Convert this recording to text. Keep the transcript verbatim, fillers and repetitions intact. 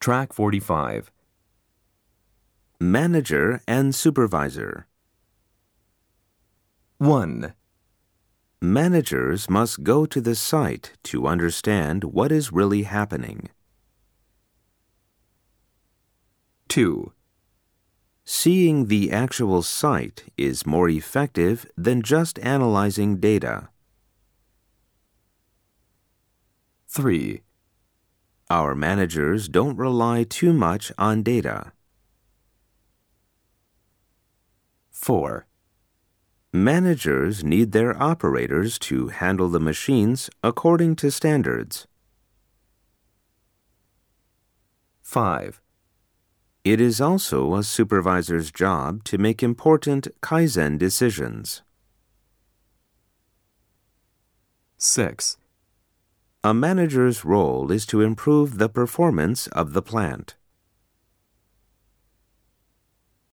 Track forty-five. Manager and supervisor. one. Managers must go to the site to understand what is really happening. two. Seeing the actual site is more effective than just analyzing data. three. Our managers don't rely too much on data. four. Managers need their operators to handle the machines according to standards. five. It is also a supervisor's job to make important Kaizen decisions. six. A manager's role is to improve the performance of the plant.